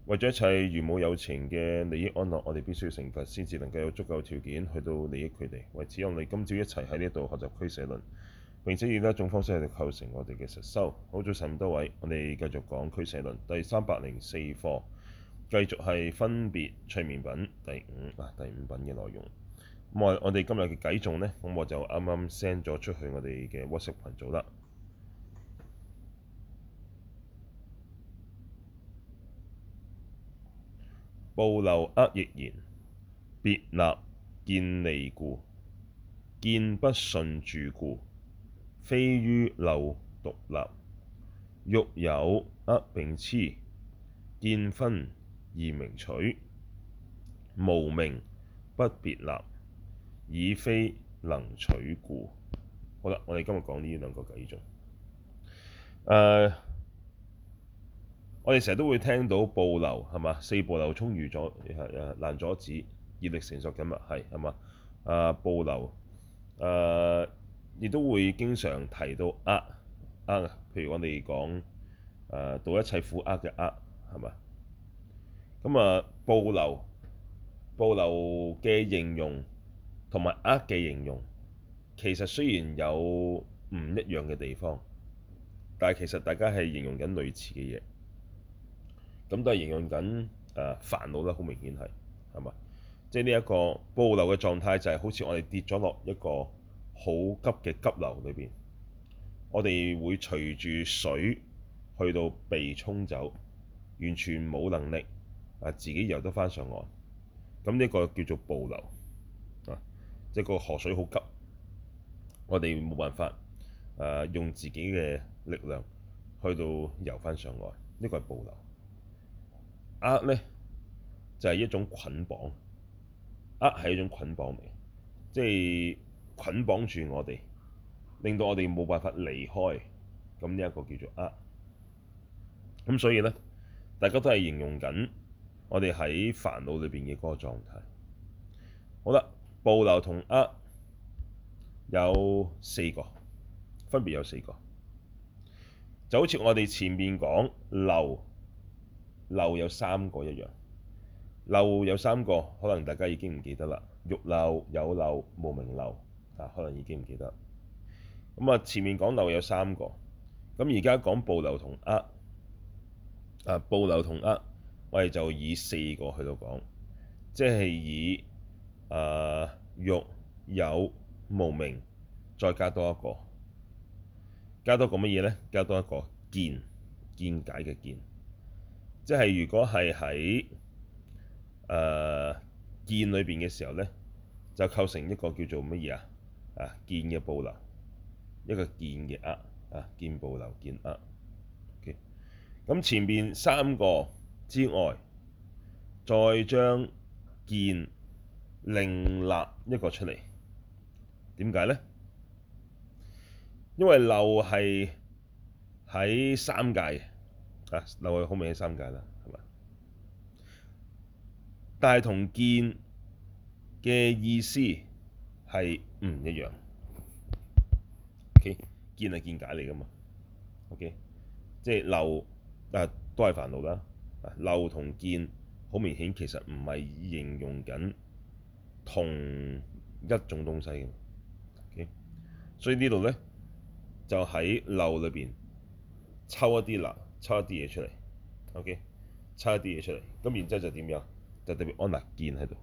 為咗一切如母有情嘅利益安樂，我哋必須要成佛，先至能夠有足夠條件去到利益佢哋。為此，我哋今朝一齊喺呢度學習俱舍論，並且以呢一種方式去構成我哋嘅實修。好，早晨咁多位，我哋繼續講俱舍論第304課，繼續係分別隨眠品第五品嘅內容。咁我哋今日嘅偈頌呢，咁我就啱啱 send 咗出去我哋嘅 WhatsApp 群組啦。暴流厄亦然，別立見利故，見不順住故，非於漏獨立。欲有厄並痴，見分二名取，無明不別立，已非能取故。好啦，我哋今日講呢兩個偈頌。我哋成日都會聽到暴流係嘛？四暴流沖如阻，難阻止，業力成熟緊密係嘛？暴流亦都會經常提到厄，譬如我哋講度一切苦厄嘅厄係嘛？咁暴流嘅形容同埋厄嘅形容，其實雖然有唔一樣嘅地方，但係其實大家係形容緊類似嘅嘢。咁都係形容緊煩惱啦，好明顯係嘛？即係呢一個暴流嘅狀態，就係好似我哋跌咗落一個好急嘅急流裏邊，我哋會隨住水去到被沖走，完全冇能力自己游得翻上岸。咁呢個叫做暴流即係個河水好急，我哋冇辦法用自己嘅力量去到游翻上岸，呢個係暴流。厄呢就係一種捆綁，厄係一種捆綁嚟，即係捆綁住我哋，令到我哋冇辦法離開。咁呢一個叫做厄。咁所以呢，大家都係形容緊我哋喺煩惱裏邊嘅嗰個狀態。好啦，暴流同厄有四個，分別有四個，就好似我哋前面講漏有三個一樣。漏有三個，可能大家已經唔記得啦。欲漏、有漏、無明漏可能已經唔記得。咁前面講漏有三個，咁而家講暴流同厄暴流同厄，我哋就以四個去到講，即係以欲、有、無明，再加多一個，加多個乜嘢呢？加多一個見解嘅見，即係如果係喺見裏邊嘅時候呢，就構成一個叫做乜嘢見嘅暴流，一個見嘅厄見暴流見厄。咁前面三個之外，再將見另立一個出嚟，點解呢？因為漏係喺三界漏係好明顯三界啦，係嘛？但係同見嘅意思係唔一樣。OK， 見係見解嚟㗎嘛。OK， 即係漏都係煩惱啦。漏同見好明顯，其實唔係形容緊同一種東西嘅。OK， 所以呢度咧就喺漏裏邊抽一啲嘢出嚟。OK， 抽一啲嘢出嚟，咁然之後就點樣？就特別安立見喺度。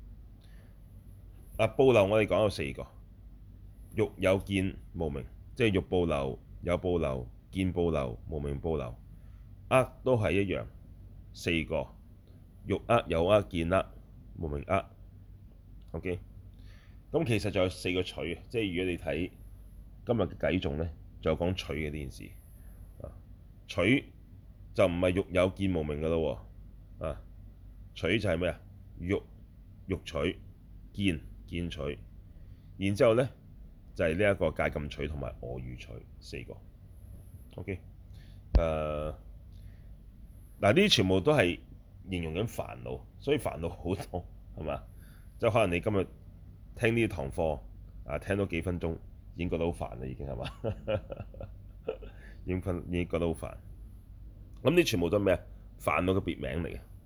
暴流我哋講有四個：欲、有、見、無明，即係欲暴流、有暴流、見暴流、無明暴流。厄都係一樣，四個：欲厄、有厄、見厄、無明厄。OK， 咁其實仲有四個取，即係如果你睇今日嘅偈頌咧，就有講取嘅呢件事。取就唔係欲、有、見、無明噶咯喎。取就係咩啊？欲取，見取，然之後咧就係呢一個戒禁取同埋我語取，四個。OK， 呢啲全部都係形容緊煩惱，所以煩惱好多係嘛？即係可能你今日聽呢堂課聽到幾分鐘已經覺得好煩啦，已經係嘛？已經覺得好煩。咁呢全部都係咩啊？煩惱嘅別名嚟嘅。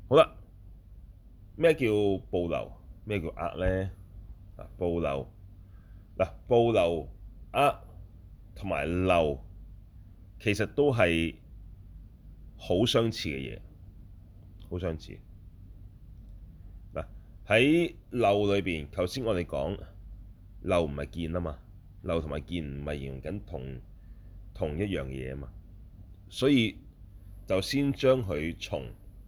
好啦，咩叫暴流？咩叫厄咧？暴流嗱，暴流、厄同埋流其實都係好相似嘅嘢，好相似。嗱，喺流裏邊，頭先我哋講流唔係見啊嘛，流同埋見唔係形容緊同一樣嘢啊嘛，所以就先將佢從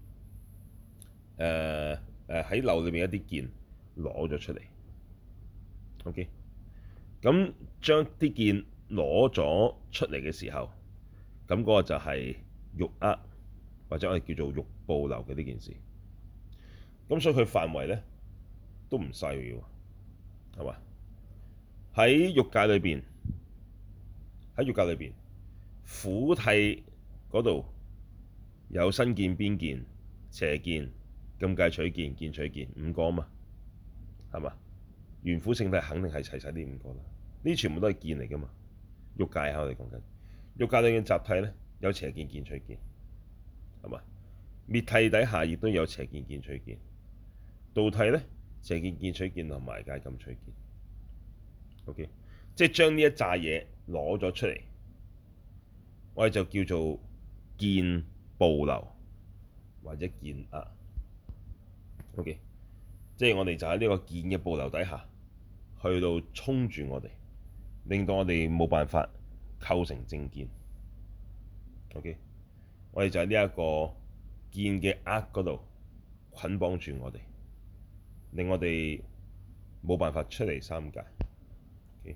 喺流裏邊一啲見攞咗出嚟。OK，咁將啲見攞咗出嚟嘅時候，咁嗰個就係欲厄，或者我哋叫做欲暴流嘅呢件事。咁所以佢範圍咧都唔細嘅喎，係嘛？喺欲界裏邊，喺欲界裏邊，苦諦嗰度有身見、邊見、邪見、禁戒取見、見取見五個啊嘛，係嘛？緣苦聖諦肯定係齊晒呢五個啦，呢全部都係見嚟噶嘛。欲界我哋講緊欲界裏嘅集諦咧，有邪見、見取見，係嘛？滅諦底下亦都有邪見、見取見。道諦咧，邪見、見取見同埋戒禁取見。OK，即係將呢一紮嘢攞咗出嚟，我哋就叫做見暴流或者見厄。OK，即係我哋就喺呢個見嘅暴流底下，去到衝住我哋，令到我哋冇辦法構成正見。OK，我哋就喺呢一個見嘅厄嗰度捆綁住我哋，令我哋冇辦法出嚟三界。Okay，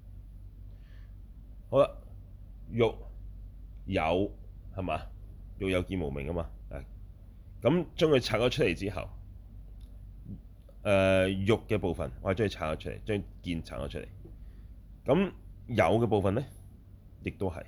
好啦，欲有係嘛？欲有見無明啊嘛。咁將佢拆咗出嚟之後，欲嘅部分我係將佢拆咗出嚟，將見拆咗出嚟。咁有嘅部分咧，亦都係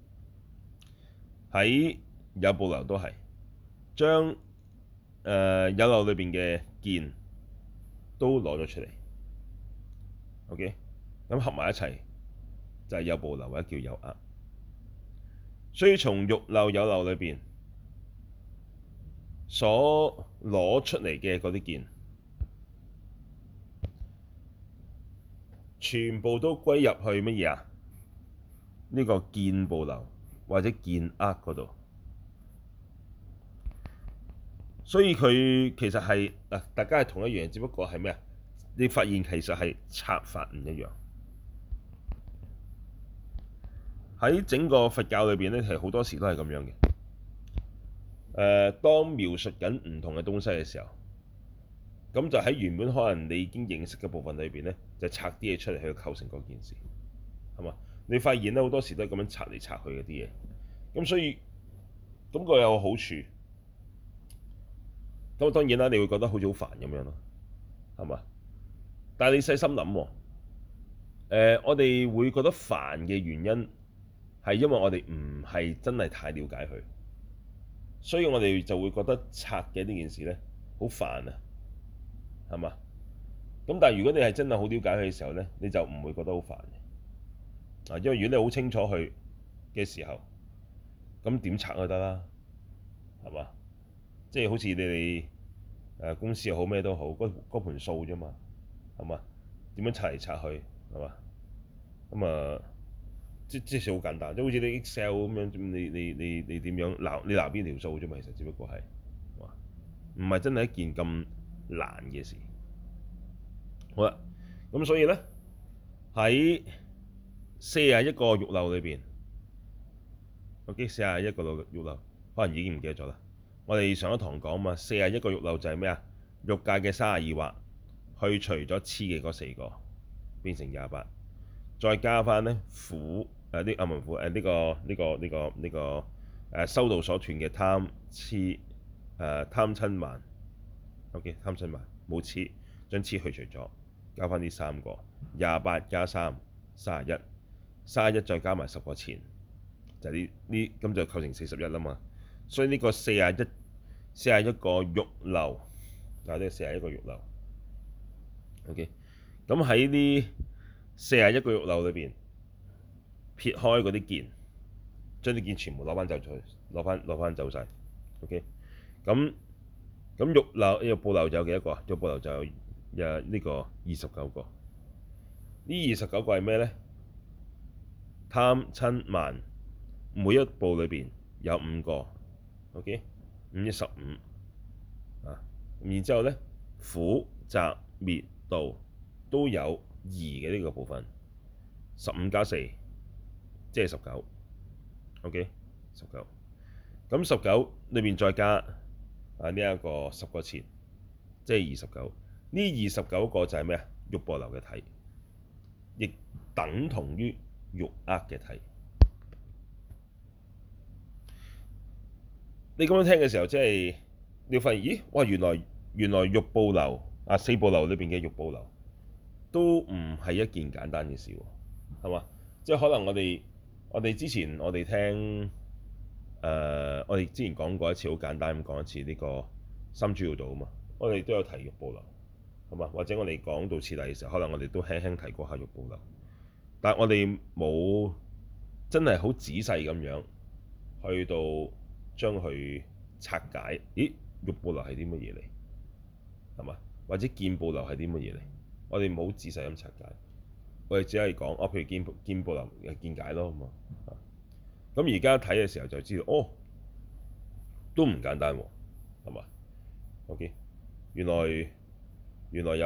喺有暴流都係將有漏裏邊嘅見都攞咗出嚟。OK，咁合埋一齊就係有暴流或者叫有厄。所以從欲漏有漏裏邊所攞出嚟嘅嗰啲見，全部都歸入去乜嘢啊？呢個見暴流或者見厄嗰度。所以佢其實係大家係同一樣，只不過係咩啊？你發現其實係拆法唔一樣。喺整個佛教裏邊咧，係好多時都係咁樣嘅。當描述緊唔同嘅東西嘅時候，咁就喺原本可能你已經認識嘅部分裏邊咧，就拆啲嘢出嚟去構成嗰件事，係嘛？你發現咧好多時都係咁樣拆嚟拆去嗰啲嘢，咁所以咁個有個好處，咁當然啦，你會覺得好似好煩咁樣咯，係嘛？但係你細心諗，我哋會覺得煩嘅原因係因為我哋唔係真係太了解佢，所以我哋就會覺得拆嘅呢件事咧好煩啊，係嘛？咁但係如果你係真係好了解佢嘅時候咧，你就唔會覺得好煩嘅，因為如果你好清楚佢嘅時候，咁點拆都得啦，係嘛？即係好似你哋公司又好咩都好，嗰盤數啫嘛，係嘛？點樣拆嚟拆去，係嘛？咁即係好簡單，即係好似你 Excel 咁樣，你點樣你鬧邊條數啫嘛？其實只不過係，唔係真係一件咁難嘅事。好啦，咁所以咧喺41個欲漏裏邊，OK， 41個欲漏可能已經唔記得咗啦。我哋上一堂講嘛，41個欲漏就係咩啊？欲界嘅32惑，去除咗痴嘅嗰4個，變成28，再加翻咧苦啲阿文苦呢個修道所斷嘅貪痴貪瞋慢。OK， 貪瞋慢冇痴，將痴去除咗，加翻呢3個28加3 31，31再加埋10個前，就係呢咁就構成41啦嘛。所以呢個41個欲漏，嗱呢41個欲漏。OK，咁喺呢41個欲漏裏邊，撇開嗰啲見，將啲見全部攞翻走出去，攞翻走晒。OK，咁咁欲部流就有幾多個啊？欲部流就有呢個29個。呢29個係咩咧？貪瞋慢每一部裏邊有5個，OK， 5×15啊。然之後咧，苦集滅道都有2嘅呢個部分，15+4即係19，OK， 19。咁19裏邊再加呢一個10個前，即係29。呢29個就係咩啊？欲部流嘅體，亦等同於欲厄嘅體。你咁樣聽嘅時候，即係你會發現，咦，哇，原來欲部流4部流裏邊嘅欲部流都唔係一件簡單嘅事喎，係嘛？即係可能我哋之前聽我哋之前講過一次，好簡單咁講一次呢個三主要道啊嘛，我哋都有提欲部流，係嘛？或者我哋講到次第嘅時候，可能我哋都輕輕提過下欲部流，但係我哋冇真係好仔細咁樣去到將佢拆解。咦，欲部流係啲乜嘢嚟？係嘛？或者見部流係啲乜嘢嚟？我哋冇仔細咁拆解，我哋只係講譬如見部流嘅見解咯，咁啊。咁而家睇嘅時候就知道，都唔簡單喎，係嘛？OK，原來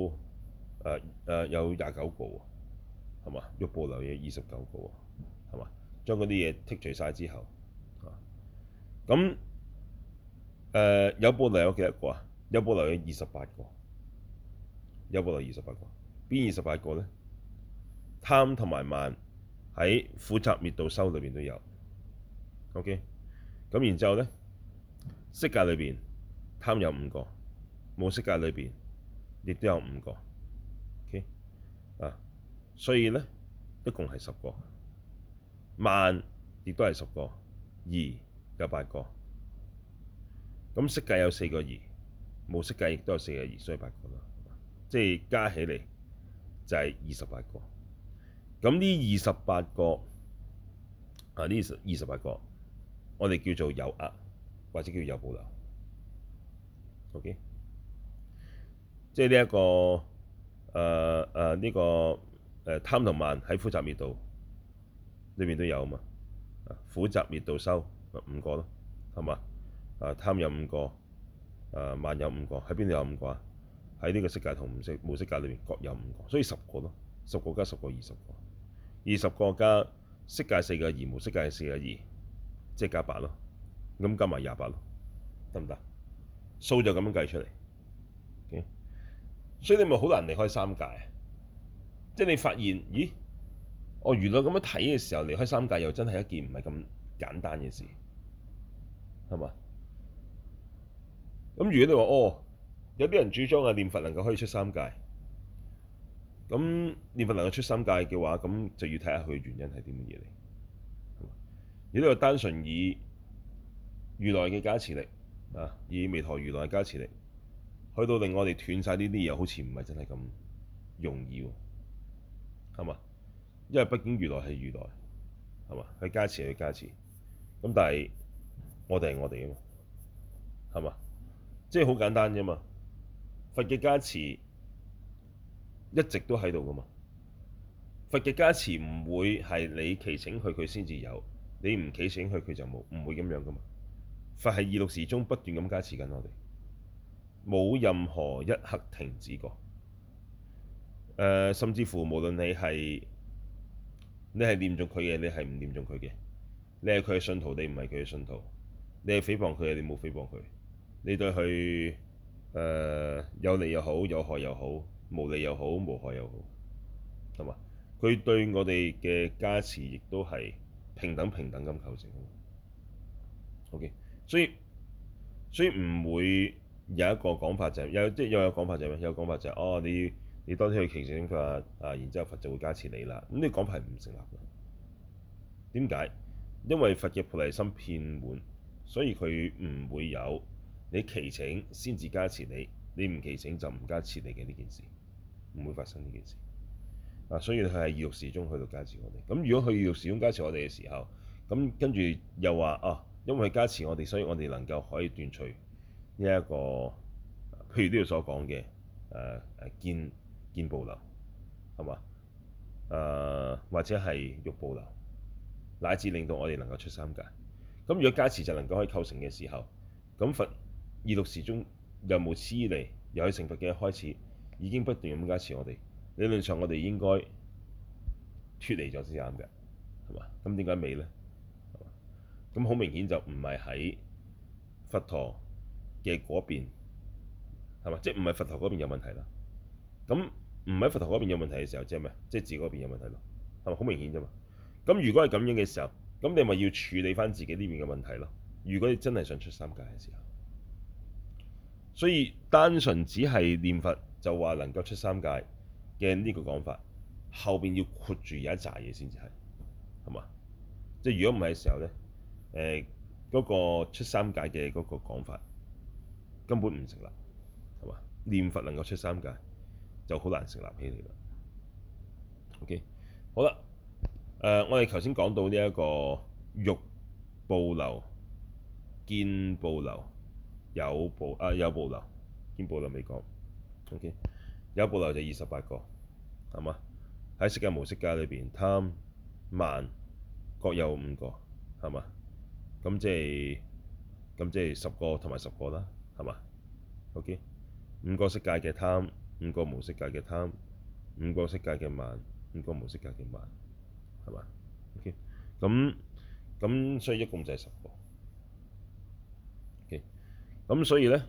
有29個喎，係嘛？欲部流有29個喎，係嘛？將嗰啲嘢剔除晒之後，咁有部流有幾多個啊？有部流有28個，有部流28個，邊28個咧？貪同埋慢喺苦集滅道修裏邊都有。OK，咁然之後咧，色界裏邊貪有5個，無色界裏邊亦都有5個。OK 所以咧一共係10個，慢亦都係10個，疑有8個。咁色界有4個疑，無色界亦都有4個疑，所以8個啦。即係加起嚟就係28個。咁呢28個呢28個，我哋叫做有厄，或者叫有部流。OK， 即係呢一個呢個貪同慢喺苦集滅道裏面都有啊嘛。苦集滅道修5個咯，係嘛？貪有5個，慢有5個，喺邊度有5個啊？喺呢個色界同無色界裏面各有5個，所以10個咯。10個加10個20個，20個加色界4個疑，無色界4個疑，即係加8咯。咁加埋28咯，得唔得？數就咁樣計出嚟。Okay? 所以你咪好難離開三界啊！即係你發現，咦？原來咁樣睇嘅時候，離開三界又真係一件唔係咁簡單嘅事，係嘛？咁如果你話有啲人主張念佛能夠可以出三界，咁念佛能夠出三界嘅話，咁就要睇下佢嘅原因係啲乜嘢嚟。如果你話單純以如來嘅加持力以彌陀如來嘅加持力，去到令我哋斷晒呢啲嘢，好似唔係真係咁容易喎，係嘛？因為畢竟如來係如來，係嘛？佢加持係佢加持，咁但係我哋係我哋啊嘛，係嘛？即係好簡單啫嘛。佛嘅加持一直都喺度噶嘛。佛嘅加持唔會係你祈請佢先至有，你唔祈請佢就冇，唔會咁樣噶嘛。佛係二六時中不斷咁加持緊我哋，冇任何一刻停止過。甚至乎無論你係念中佢嘅，你係唔念中佢嘅，你係佢嘅信徒，你唔係佢嘅信徒，你係誹謗佢嘅，你冇誹謗佢，你對佢有利又好，有害又好，無利又好，無害又好，係嘛？佢對我哋嘅加持亦都係平等咁構成。OK， 所以唔會有一個講法就係有講法就係咩？有講法就係你多啲去祈請佛然之後佛就會加持你啦。咁呢個講法係唔成立嘅。點解？因為佛嘅菩提心遍滿，所以佢唔會有你祈請先至加持你，你唔祈請就唔加持你嘅呢件事，唔會發生呢件事。所以佢係二六時中去到加持我哋。咁如果佢二六時中加持我哋嘅時候，咁跟住又話因為佢加持我哋，所以我哋能夠可以斷除呢一個，譬如呢度所講嘅見報流，係嘛？或者係欲報流，乃至令到我哋能夠出三界。咁如果加持就能夠可以構成嘅時候，咁佛二六時中由無始以嚟，由佢成佛嘅一開始，已經不斷咁加持我哋。理論上我哋應該脫離咗先啱嘅，係嘛？咁點解未呢？咁好明顯就唔係喺佛陀嘅嗰邊，係嘛？即係唔係佛陀嗰邊有問題啦。咁唔喺佛陀嗰邊有問題嘅時候，即係咩？即係自己嗰邊有問題咯，係咪好明顯啫嘛？咁如果係咁樣嘅時候，咁你咪要處理翻自己呢邊嘅問題咯。如果你真係想出三界嘅時候，所以單純只係念佛就話能夠出三界嘅呢個講法，後邊要括住有一紮嘢先至係嘛？即係如果唔係嘅時候咧，嗰個出三界嘅嗰個講法根本唔成立，係嘛？念佛能夠出三界就好難成立起嚟啦。OK，好啦，我哋頭先講到呢一個欲報流、見報流、有報流、見報流未講。OK，有報流就28個，係嘛？喺色界無色界裏邊，貪慢各有5個，係嘛？咁即係10個同埋10個啦，係嘛？OK， 5個色界嘅貪，5個無色界嘅貪，5個色界嘅慢，5個無色界嘅慢，係嘛？OK，咁所以一共就係10個。OK，咁所以咧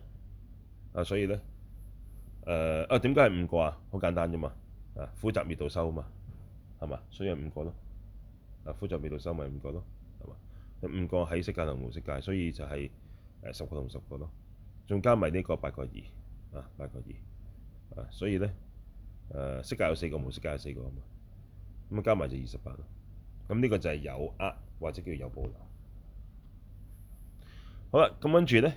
點解係5個啊？好簡單啫嘛，苦集滅道修啊嘛，係嘛？所以係5個咯，苦集滅道修咪5個咯，係嘛？有5個喺色界同無色界，所以就係10個同10個咯，仲加埋呢個8個28個2，所以咧色界有4個，無色界有4個啊嘛，咁加埋就28咯。咁呢個就係有或者叫有報流。好啦，咁跟住咧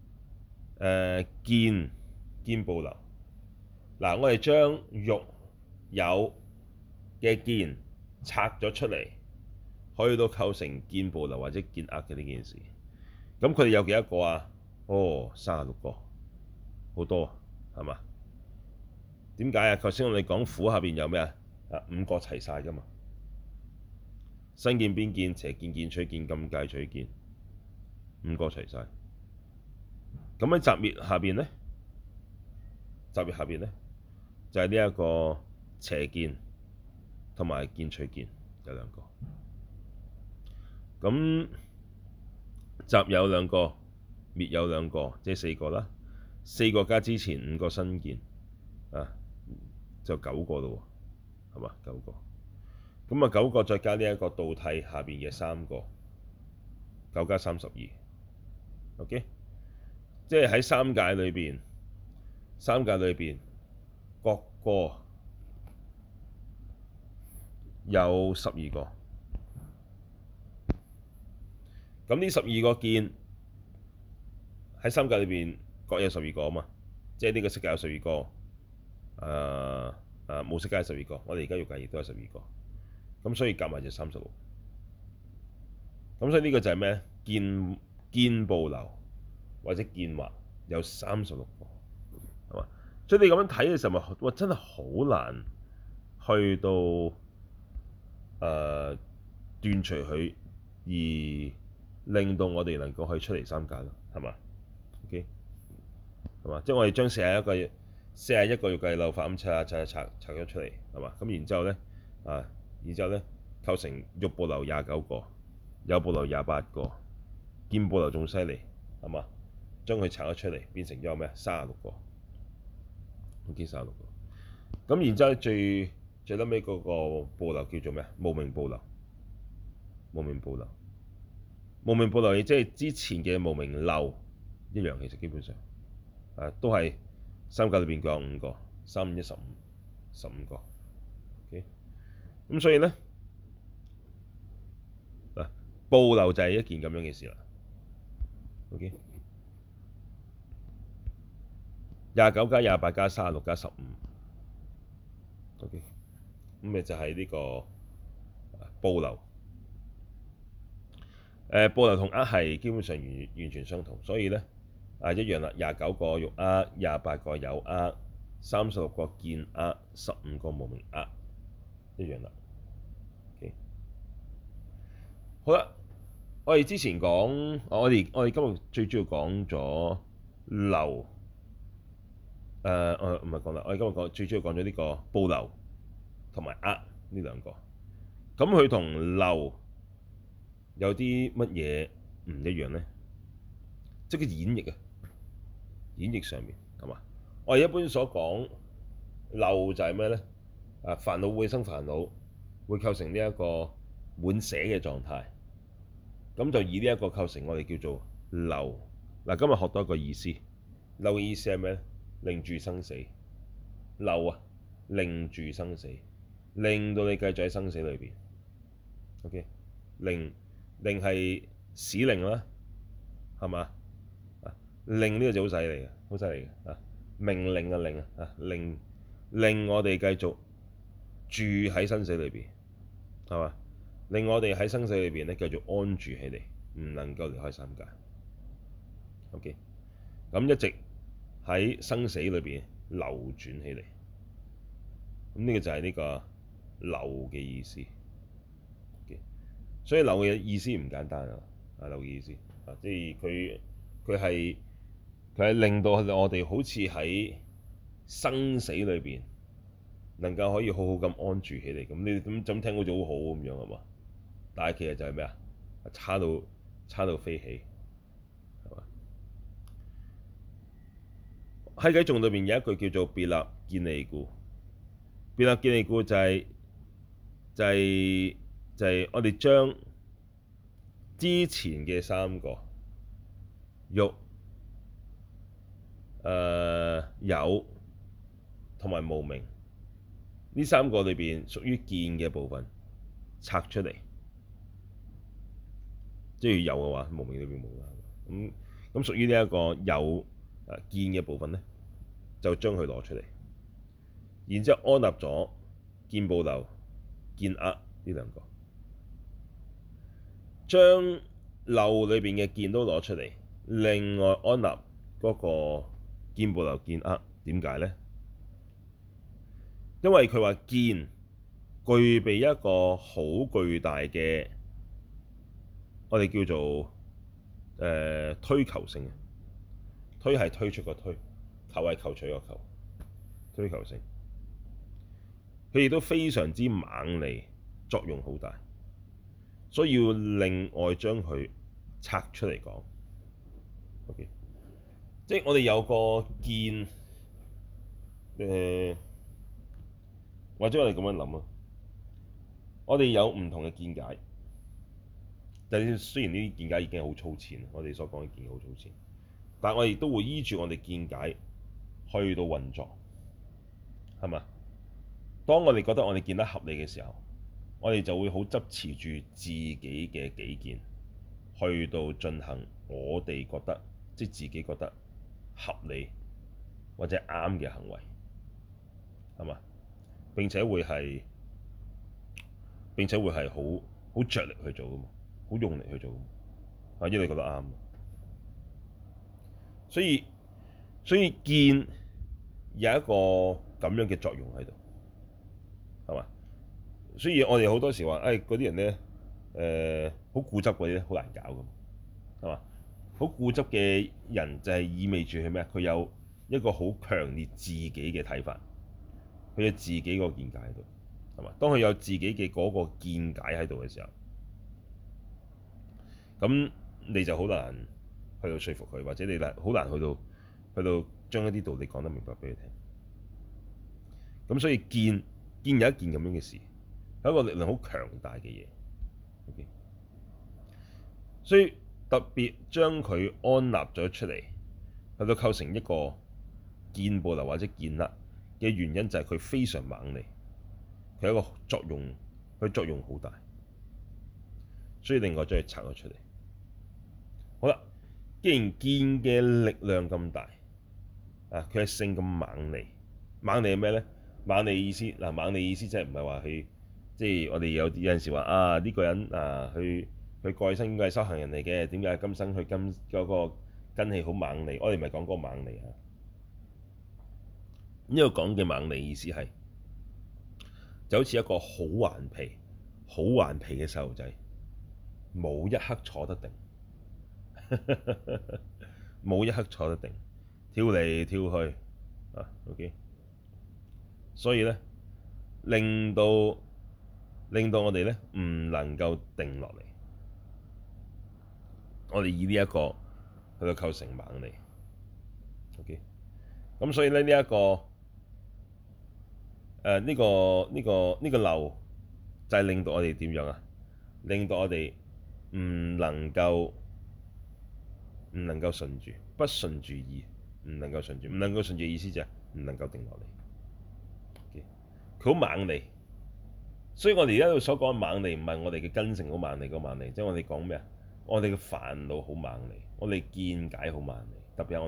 見報流。嗱，我哋將欲有嘅見拆咗出嚟，去到構成見報流或者見嘅呢件事。咁佢哋有幾多個啊？哦，36個，好多係嘛？點解啊？頭先我哋講苦下邊有咩啊？5個齊晒㗎嘛？身見、邊見、邪見、見取見、禁戒取見，5個齊晒。咁喺擇滅下邊咧？擇滅下邊咧就係呢一個邪見同埋見取見有2個。咁擇有2個，滅有2個，即係4個啦。4個加之前5個身見就9個咯喎，係嘛？9個。咁9個再加呢一個道諦下邊嘅3個，9加32。OK， 即係喺三界裏邊各個有12個。咁呢12個見喺三界裏邊各有12個啊嘛，即係呢個色界有12個，無色界有12個，我哋而家欲界亦都有12個，咁所以夾埋就36。咁所以呢個就係咩？見報流或者見惑有36個，係嘛？所以你咁樣睇嘅時候，咪哇真係好難去到斷除佢，而令到我哋能夠去出離三界咯，係嘛？OK， 係嘛？即係我哋將41個欲界漏法咁拆咗出嚟，係嘛？咁然之後咧，構成欲報流29個，有報流28個，見報流仲犀利，係嘛？將佢拆咗出嚟，變成咗咩？36個，OK， 36個。咁然之後最撚尾嗰個報流叫做咩？無明報流。無明報流，無明報流亦即係之前嘅無明漏一樣，其實基本上都係三界裏邊各有5個，3、5、1、15個。OK， 咁所以咧報流就係一件咁樣嘅事啦。OK， 29加28加36加15。OK， 咁咪就係呢個報流。報流同係基本上完全相同，所以咧一樣啦，29個欲厄，28個有厄，36個見厄，15個無明厄，一樣啦。Okay. 好啦，我哋之前講，我哋今日最主要講咗流，我唔係講啦，我哋今日最主要講咗呢個報流同埋厄呢兩個。咁佢同流有啲乜嘢唔一樣咧？即係個演繹啊，演繹上面係嘛？我哋一般所講流就係咩咧？煩惱會生煩惱，會構成呢一個滿捨嘅狀態。咁就以呢一個構成我哋叫做流。嗱，今日學到一個意思，流嘅意思係咩咧？令住生死。流啊，令住生死，令到你繼續喺生死裏邊。OK，令係使令啦，係嘛？令呢個就好犀利嘅，好犀利嘅啊！命令嘅令啊，令我哋繼續住喺生死裏邊，係嘛？令我哋喺生死裏邊咧繼續安住起嚟，唔能夠離開三界。OK，咁一直喺生死裏邊流轉起嚟，咁呢個就係呢個流嘅意思。OK，所以流嘅意思唔簡單啊！流嘅意思啊，即係佢係令到我哋好似喺生死裏邊能夠可以好好咁安住起嚟。咁你咁聽好似好好咁樣係嘛？但係其實就係咩啊？差到飛起，係嘛？喺偈頌裏邊有一句叫做別立見離故。別立見離故就係我哋將之前嘅三個欲、有同埋無明呢三個裏邊屬於見嘅部分拆出嚟，即係有嘅話，無明裏邊冇啦。咁屬於呢一個有見嘅部分咧，就將佢攞出嚟，然之後安立咗見報流、見厄呢兩個，將流裏邊嘅見都攞出嚟，另外安立嗰個見報流、見厄。點解咧？因為佢話見具備一個好巨大嘅，我哋叫做推求性。推係推出個推，求係求取個求，推求性。佢亦都非常之猛利，作用好大，所以要另外將佢拆出嚟講。OK，即係我哋有個見，或者我哋咁樣諗啊，我哋有唔同嘅見解。但係雖然呢啲見解已經好粗淺，我哋所講嘅見解好粗淺，但係我哋都會依住我哋見解去到運作，係嘛？當我哋覺得我哋見得合理嘅時候，我哋就會好執持住自己嘅己見，去到進行我哋覺得即係自己覺得合理或者啱嘅行為，係嘛？並且會係好着力去做噶嘛，好用力去做噶嘛，因為你覺得啱。所以見有一個咁樣嘅作用喺度，係嘛？所以我哋好多時話，嗰啲人咧，好固執嗰啲咧，好難搞噶嘛，係嘛？好固執嘅人就係意味住係咩啊？佢有一個好強烈自己嘅睇法，佢有自己個見解喺度，係嘛？當佢有自己嘅嗰個見解喺度嘅時候，咁你就好難去到說服佢，或者你好難去到將一啲道理講得明白俾佢聽。咁所以見有一件咁樣嘅事，係一個力量好強大嘅嘢。Okay? 所以特別將佢安立咗出嚟，去到構成一個見報流或者見厄嘅原因，就係佢非常猛利，佢有一個作用，佢作用好大，所以另外將佢拆咗出嚟。好啦，既然見嘅力量咁大，佢嘅性咁猛利，猛利係咩咧？猛利意思嗱，猛利意思即係唔係話佢，即係我哋有陣時話呢個人佢過去生應該係修行人嚟嘅，點解今生佢嗰個根器好猛利，我哋唔係講嗰個猛利啊。呢個講嘅猛利意思係就好似一個好頑皮嘅細路仔，冇一刻坐得定，冇一刻坐得定，跳嚟跳去啊。OK，所以咧令到我哋咧唔能夠定落嚟。我哋以呢一個去到構成猛利。OK，咁所以咧呢一個呢個漏就係令到我哋點樣啊？令到我哋唔能夠順住，不順住意，唔能夠順住意思就係唔能夠定落嚟。佢好猛利，所以我哋而家所講嘅猛利唔係我哋嘅根性好猛利個猛利，即係我哋講咩啊？我哋嘅煩惱好猛利，我哋見解好猛利，特別係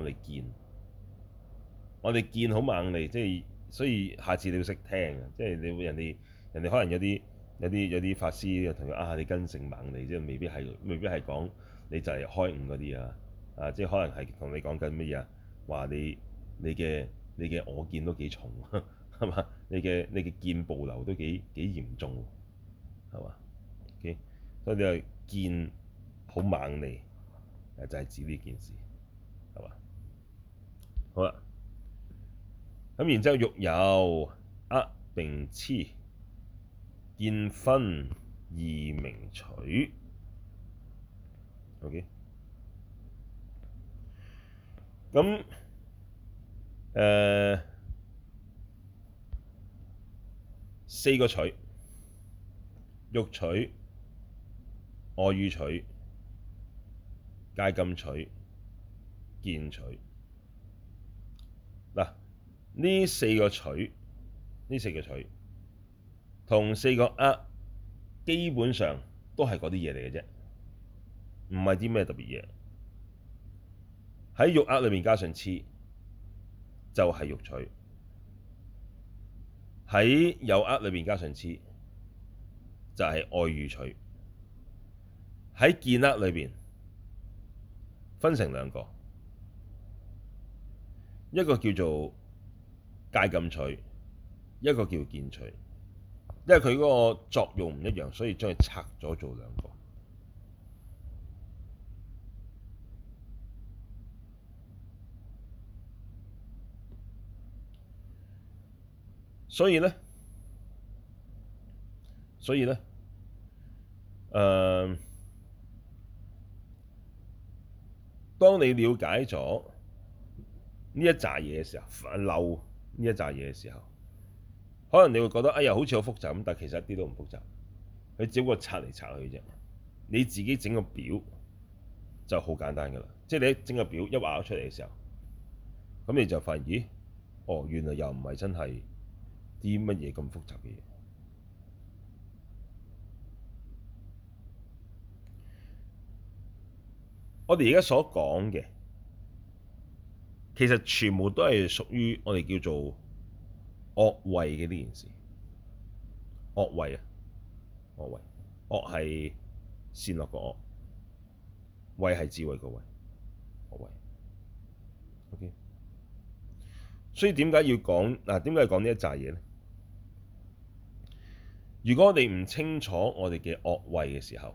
我哋見好猛利，即係所以下次你要識聽啊！即係你會人哋可能有啲法師同佢啊，你根性猛利，即係未必係講你就係開悟嗰啲啊，即係可能係同你講緊乜嘢啊？話你嘅我見都幾重，係嘛？你嘅見暴流都幾嚴重，係嘛？OK，所以你係見好猛利，就係指呢件事，係嘛？好啦，咁然之後欲有厄並痴，見分二名取。OK，咁四個取：欲取、愛語取、戒禁取、見取。嗱，呢四個取同四個厄基本上都係嗰啲嘢嚟嘅啫，唔係啲咩特別嘢。喺欲厄裏面加上痴，就係欲取；喺有厄裏面加上痴，就係愛語取。喺見厄裏邊分成兩個，一個叫做戒禁取，一個叫見取。因為佢嗰個作用唔一樣，所以將佢拆咗做兩個。所以咧，當你了解咗呢一紮嘢嘅時候，漏呢一紮嘢嘅時候，可能你會覺得哎呀好似好複雜咁，但其實一啲都唔複雜，佢只不過拆嚟拆去啫。你自己整個表就好簡單㗎啦，即係你一整個表一畫咗出嚟嘅時候，咁你就發現咦，哦原來又唔係真係啲乜嘢咁複雜嘅嘢。我哋而家所講嘅，其實全部都係屬於我哋叫做惡慧嘅呢件事。惡慧啊，惡慧，惡係善惡個惡，慧係智慧個慧，惡慧。OK，所以點解要講嗱？點解要講呢一紮嘢咧？如果我哋唔清楚我哋嘅惡慧嘅時候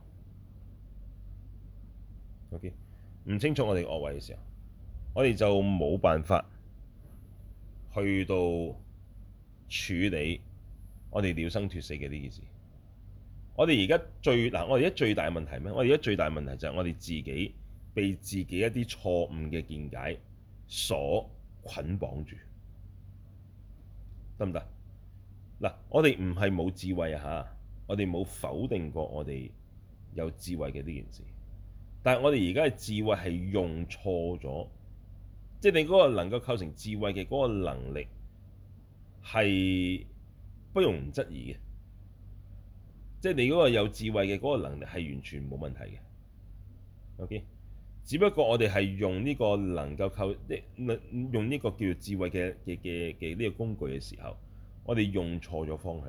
，OK，唔清楚我哋惡慧嘅時候，我哋就冇辦法去到處理我哋了生脫死嘅呢件事。我哋而家我哋而家最大嘅問題咩？我哋而家最大嘅問題就係我哋自己被自己一啲錯誤嘅見解所捆綁住，得唔得？嗱，我哋唔係冇智慧啊嚇，我哋冇否定過我哋有智慧嘅呢件事，但係我哋而家嘅智慧係用錯咗，即係你嗰個能夠構成智慧嘅嗰個能力係不容質疑嘅。即係你嗰個有智慧嘅嗰個能力係完全冇問題嘅，OK。只不過我哋係用呢個能夠用呢個叫做智慧嘅呢個工具嘅時候，我哋用錯咗方向。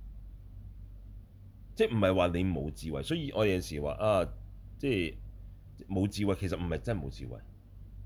即係唔係話你冇智慧，所以我有陣時話啊，即係冇智慧，其實唔係真係冇智慧，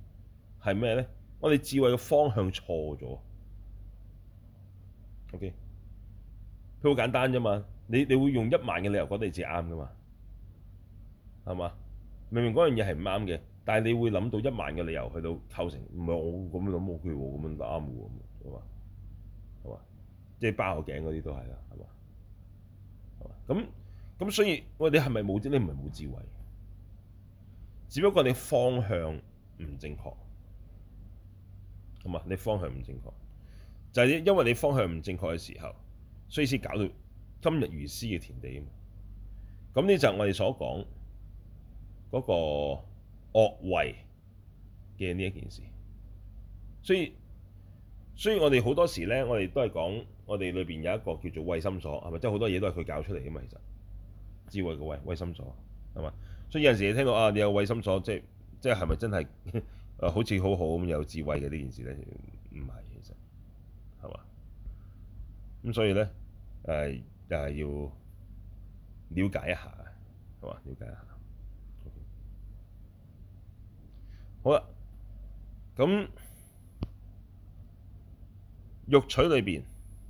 係咩咧？我哋智慧嘅方向錯咗。OK，佢好簡單啫嘛。你會用1萬嘅理由覺得你自己啱噶嘛？係嘛？明明嗰樣嘢係唔啱嘅，但係你會諗到1萬嘅理由去到構成，唔係我咁樣諗 OK 喎，咁樣啱嘅喎，係嘛？係嘛？即係包個頸嗰啲都係啦，係嘛？係嘛？咁所以喂，你係咪冇？你唔係冇智慧，只不過你方向唔正確，係嘛？你方向唔正確，就係因為你方向唔正確嘅時候，所以先搞到今日如斯嘅田地啊嘛。咁呢就係我哋所講嗰個惡慧嘅呢一件事。所以我哋好多時咧，我哋都係講我哋裏邊有一個叫做慧心所，係咪？即係好多嘢都係佢教出嚟嘅嘛。其實智慧嘅慧心所係嘛？所以有陣時你聽到啊，你有慧心所，即係係咪真係好似好好咁有智慧嘅呢件事咧？唔係，其實係嘛？咁所以咧又係要了解一下，係嘛？了解一下。好啦，咁欲取裏邊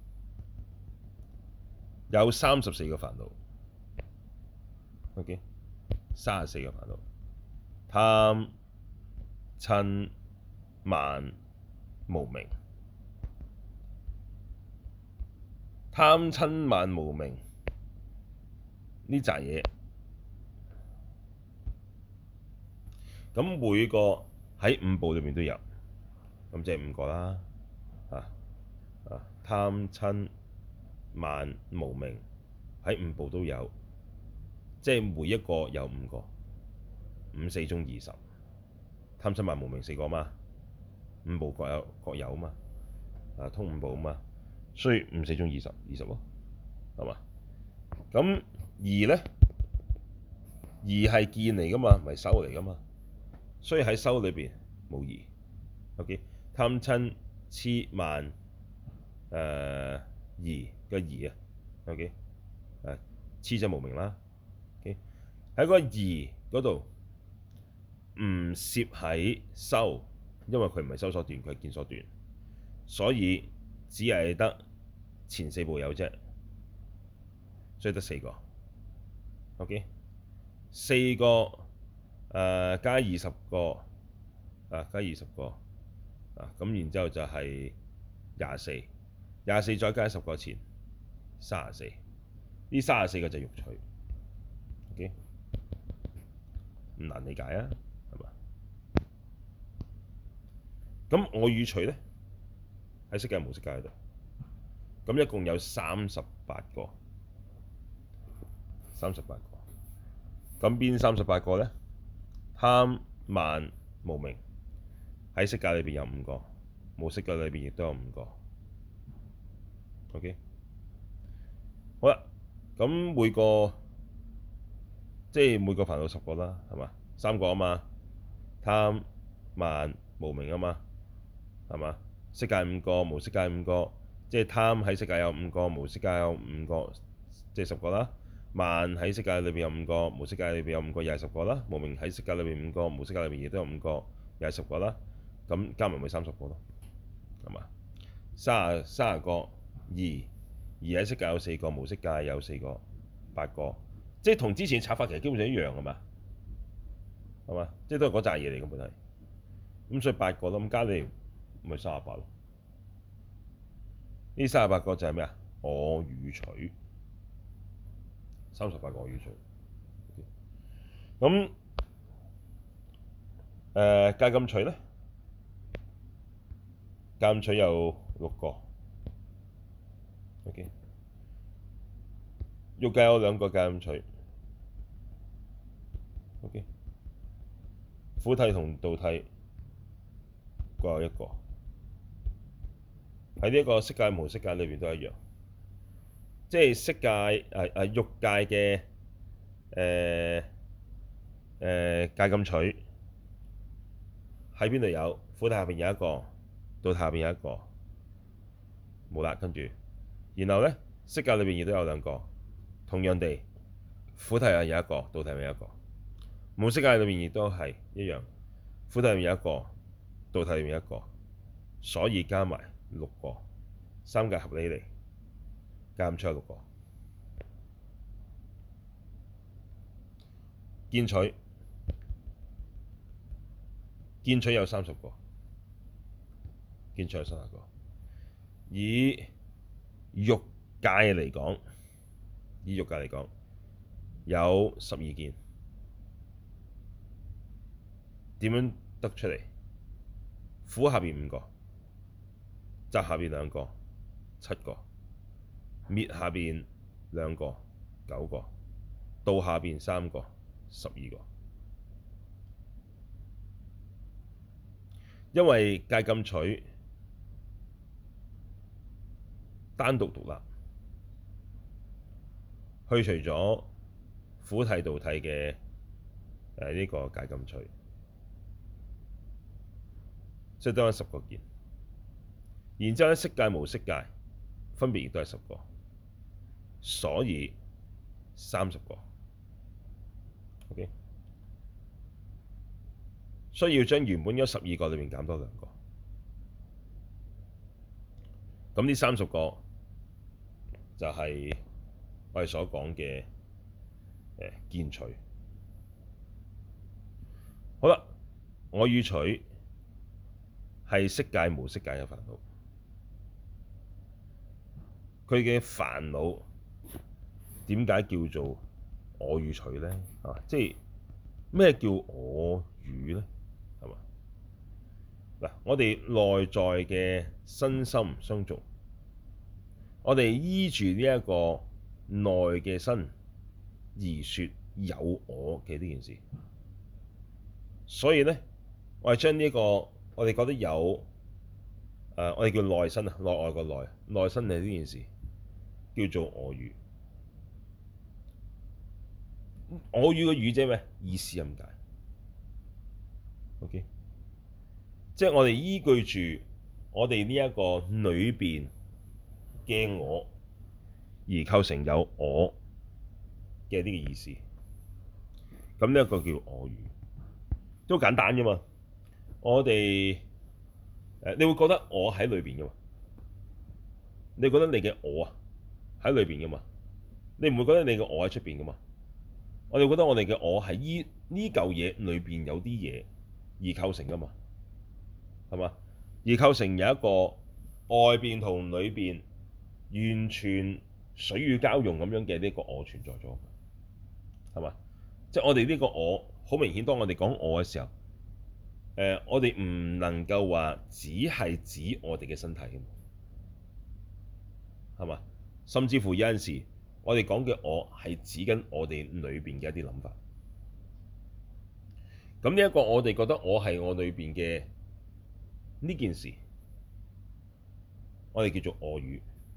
有34個煩惱，OK， 34個煩惱：貪、瞋、慢、無明。貪瞋慢無明呢扎嘢，咁每個喺5部裏面都有，咁即係5個啦。貪瞋慢無明喺5部都有，即係每一個有5個，5、4中20，貪瞋慢無明4個嘛，5部各有嘛，通5部嘛，所以5、4中20咯，係嘛？咁疑咧，疑係見嚟噶嘛，唔係修嚟噶嘛，所以喺修裏邊冇疑。OK， 貪瞋痴慢疑嘅疑啊。OK， 痴就無明啦。OK， 喺個疑嗰度唔攝喺修，因為佢唔係修所斷，佢係見所斷，所以只係得前4部有啫，所以得4個。OK， 4個加20個加20個咁然之後就係24，再加10個前34，呢34個就係欲取。OK， 唔難理解啊，係嘛？咁我語取咧喺色界無色界度，咁一共有38個。咁邊38個咧？貪慢無明喺色界裏邊有5個，無色界裏邊亦都有5個。OK， 好啦，咁每個煩惱10個啦，係嘛？3個啊嘛，貪慢無明啊嘛，係嘛？色界5個，無色界5個，即係貪喺色界有5個，無色界有5個，即係10個啦。慢喺色界裏邊有5個，無色界裏邊有5個，又係10個啦。無明喺色界裏邊5個，無色界裏邊亦都有5個，又係10個啦。咁加埋咪30個咯，係嘛？30個疑喺色界有4個，無色界有4個，8個，即係同之前拆法其實基本上一樣，係嘛？係嘛？即係都係嗰扎嘢嚟嘅本嚟。咁所以8個咯，咁加你咪38咯。呢38個就係咩啊？我語取。38個我語取。咁戒禁取咧？戒禁取有6個。OK， 欲界有2個戒禁取。OK， 苦諦同道諦各有1個。喺呢一個色界無色界裏邊都一樣，即係色界欲界嘅戒禁取喺邊度有？苦諦下邊有1個，道諦下邊有1個，冇啦。跟住，然後咧色界裏邊亦都有2個，同樣地，苦諦係有1個，道諦係有1個。無色界裏邊亦都係一樣，苦諦係有1個， 道體裏面一個，所以加埋六個，三界合起嚟加出6個。見取有30個，見取有30個。以欲界嚟講，有12見。點樣得出嚟？苦下邊5個，集下邊2個，7個；滅下邊2個，9個；道下邊3個，12個。因為戒禁取單獨獨立，去除咗苦諦道諦嘅呢個戒禁取，即係得10個見。然之後咧，色界無色界分別亦都係10個，所以30個。OK，需要將原本嗰12個裏面減多2個。咁呢30個就係我哋所講嘅見取。好啦，我與取係色界無色界嘅煩惱。佢嘅煩惱點解叫做我與取呢？即係咩叫我與呢？係嘛？嗱，我哋內在嘅身心相續，我哋依住呢一個內嘅身而說有我嘅呢件事，所以呢，我哋將呢個我哋覺得有我哋叫內身啊，內外個內身嘅呢件事叫做我與。我與嘅與即係咩？意思咁解。OK，即係我哋依據住我哋呢一個裏邊嘅我而構成有我嘅呢個意思。咁呢一個叫我與，都簡單啫嘛。我哋你會覺得我喺裏邊噶嘛？你覺得你嘅我啊喺裏邊噶嘛？你唔會覺得你嘅我喺出邊噶嘛？我哋覺得我哋嘅我係依呢嚿嘢裏邊有啲嘢而構成噶嘛？係嘛？而構成有一個外邊同裏邊完全水乳交融咁樣嘅呢個我存在咗，係嘛？即係我哋呢個我好明顯，當我哋講我嘅時候，我哋唔能夠話只係指我哋嘅身體嘅，係嘛？甚至乎有陣時，我哋講嘅我係指緊我哋裏邊嘅一啲諗法。咁呢一個我哋覺得我係我裏邊嘅呢件事，我哋叫做我與，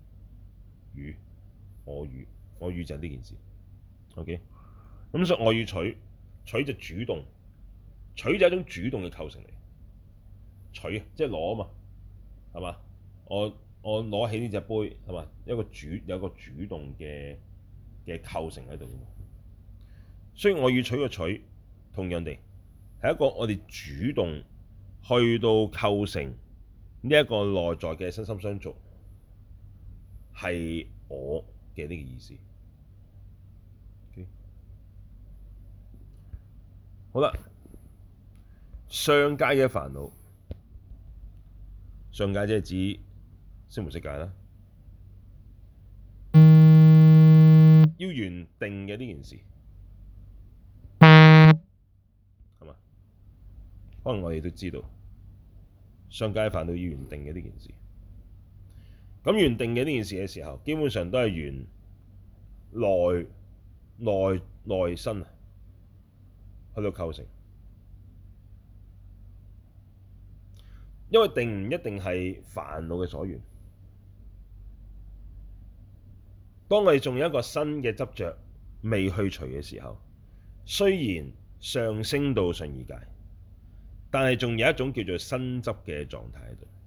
我與就係呢件事。OK，咁所以我與取，取就主動，取就係一種主動嘅構成嚟。取即係攞啊嘛，係嘛？我攞起呢隻杯，係嘛？有一個主動嘅構成喺度。所以我與取嘅取，同樣地係一個我哋主動去到構成呢一個內在嘅身心相續，係我嘅呢個意思。Okay? 好啦，上界嘅煩惱，上界即係指色無色界啦。要緣定嘅呢件事，係嘛？可能我哋都知道，上界煩惱要緣定嘅呢件事。咁緣定嘅呢件事嘅時候，基本上都係緣內身啊，去到構成。因為定唔一定係煩惱嘅所緣。當我哋仲有一個新嘅執着未去除嘅時候，雖然上升到上二界，但係仲有一種叫做新執嘅狀態喺度。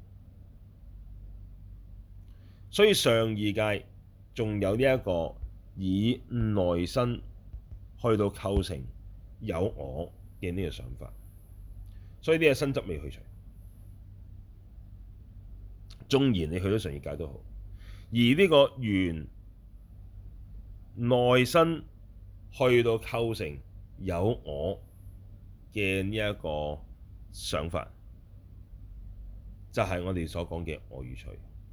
所以上二界仲有呢一個以內身去到構成有我嘅呢個想法，所以呢個新執未去除。 縱然你去到上二界都好，而呢個緣內身去到構成有我嘅呢一個想法，就係我哋所講嘅我與取。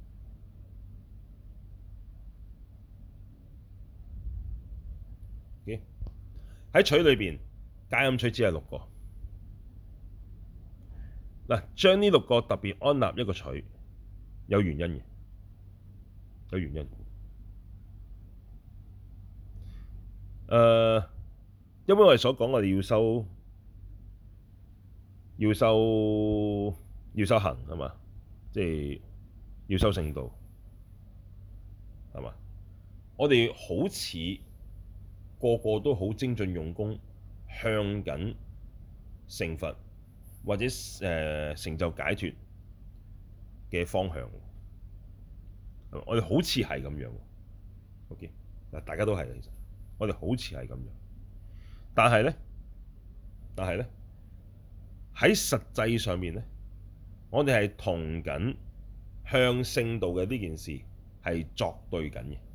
喺取裏邊，解禁取只係六個。嗱，將呢六個特別安立一個取，有原因嘅，有原因。因為我哋所講，我哋要修行係嘛，即係要修聖道係嘛。我哋好似個個都好精進用功，向緊成佛或者成就解脫嘅方向。我哋好似係咁樣。OK，嗱，大家都係，其實我哋好似係咁樣，但係咧喺實際上面咧，我哋係同緊向聖道嘅呢件事係作對緊嘅，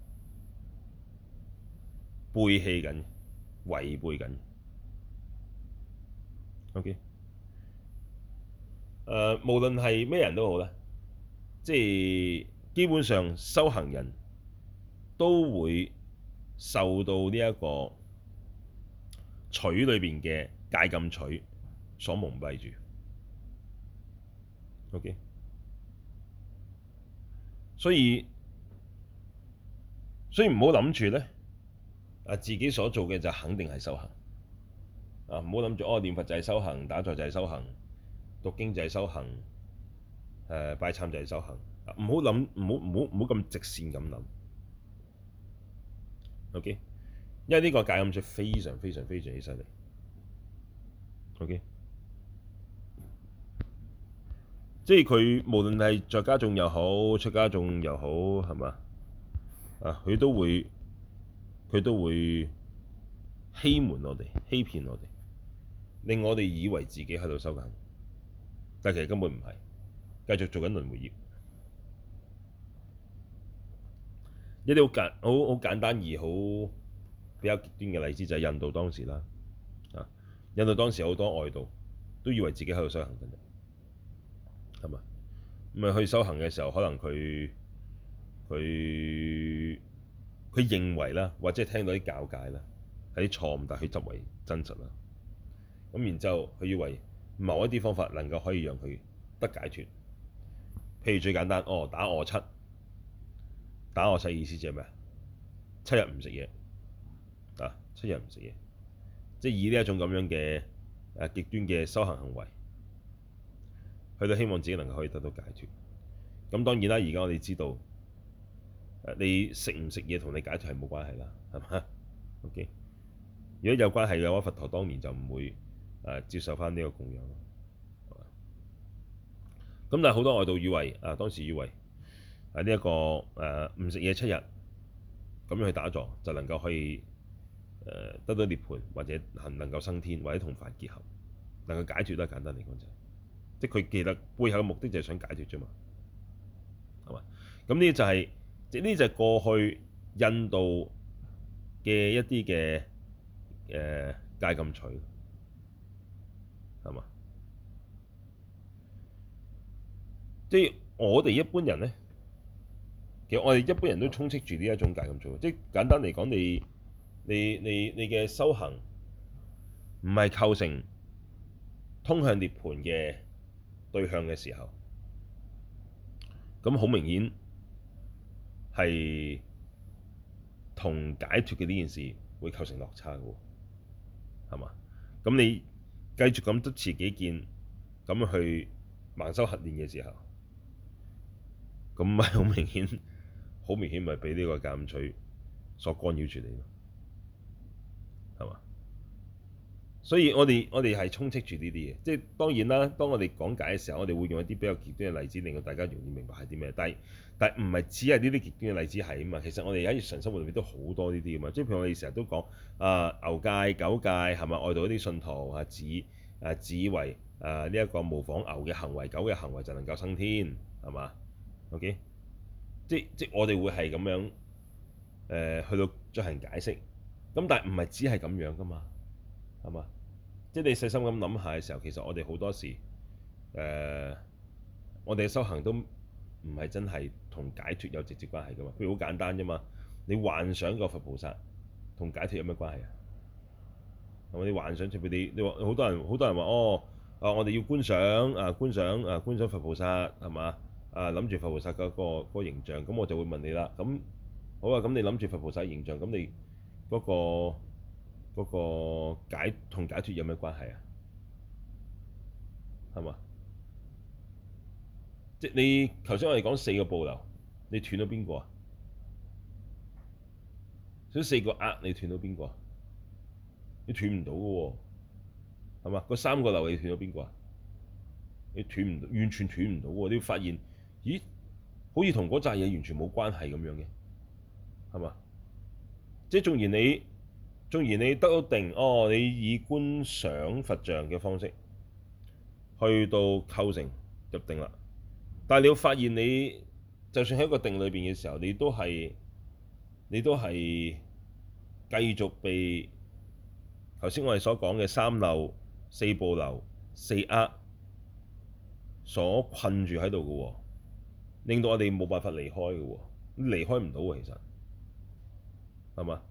背棄緊，違背緊。OK，無論係咩人都好啦，即係基本上修行人都會受到呢一個取裏邊嘅戒禁取所蒙蔽住。OK，所以唔好諗住咧，自己所做嘅就肯定係修行。唔好諗住念佛就係修行，打坐就係修行，讀經就係修行，拜懺就係修行。唔好諗，唔好咁直線咁諗。OK，因為呢個戒禁取非常非常非常之犀利。OK，即係佢無論係在家眾又好，出家眾又好，係嘛？佢都會欺瞞我哋，欺騙我哋，令我哋以為自己喺度修緊，但其實根本唔係，繼續做緊輪迴業。一啲好簡單而好比較極端嘅例子就係印度當時啦。印度當時好多外道都以為自己喺度修行緊，係嘛？咁去修行嘅時候，可能佢認為啦，或者聽到啲教誡啦，係啲錯誤，但係佢執為真實啦。咁然之後，佢以為某一啲方法能夠可以讓佢得解脫。譬如最簡單，打臥七，打臥七意思即係咩啊？7日唔食嘢，7日唔食嘢，即係以呢一種咁樣嘅極端嘅修行行為，去到希望自己能夠可以得到解脫。咁當然啦，而家我哋知道，你食唔食嘢同你解脫係冇關係啦，係嘛？OK，如果有關係嘅話，佛陀當年就唔會接受翻呢個供養。咁但係好多外道以為當時以為呢一個唔食嘢7日，咁樣去打坐就能夠可以得到涅槃，或者能夠升天，或者同佛結合，能夠解脫。都係簡單嚟講就係，即係佢其實背後嘅目的就係想解脫啫嘛，係嘛？咁呢就係呢就係過去印度嘅一啲嘅戒禁取，係嘛？即係我哋一般人咧，其實我哋一般人都充斥住呢一種戒禁取。即係簡單嚟講，你嘅修行唔係構成通向涅槃嘅對象嘅時候，咁好明顯係同解脫嘅呢件事會構成落差嘅喎，係嘛？咁你繼續咁執持己見，咁去盲修核練嘅時候，咁咪好明顯咪俾呢個戒禁取所干擾住你咯，係嘛？所以我哋係充斥住呢啲嘢，即係當然啦。當我哋講解嘅時候，我哋會用一啲比較極端嘅例子，令到大家容易明白係啲咩。但係唔係只係呢啲極端嘅例子係啊嘛。其實我哋喺日常生活裏面都好多呢啲噶嘛。即係譬如我哋成日都講牛戒、狗戒係咪？外道啲信徒指為呢一個模仿牛嘅行為、狗嘅行為就能夠升天，係嘛？ OK，即我哋會係咁樣去到進行解釋。咁但係唔係只係咁樣噶嘛，係嘛？即係你細心咁諗下嘅時候，其實我哋好多時我哋嘅修行都唔係真係同解脫有直接關係噶嘛。譬如好簡單啫嘛，你幻想個佛菩薩同解脫有咩關係啊？係咪？你幻想，譬如你話好多人話哦，我哋要觀想佛菩薩係嘛？諗住佛菩薩嗰個形象，咁我就會問你啦。咁好啊，咁你諗住佛菩薩形象，咁你嗰個同解脫有咩關係啊？係嘛？即係你頭先我哋講四個部流，你斷咗邊個啊？所以四個厄你斷到邊個啊？你斷唔到嘅喎，係嘛？嗰三個流你斷咗邊個啊？你斷唔到，完全斷唔到喎！你會發現，咦，好似同嗰扎嘢完全冇關係咁樣嘅，係嘛？即係縱然你得到定，哦，你以觀想佛像嘅方式去到構成入定啦，但係你會發現你就算喺一個定裏邊嘅時候，你都係繼續被頭先我哋所講嘅三漏、四部流、四厄所困住喺度嘅喎，令到我哋冇辦法離開嘅喎，離開唔到喎，其實係嘛？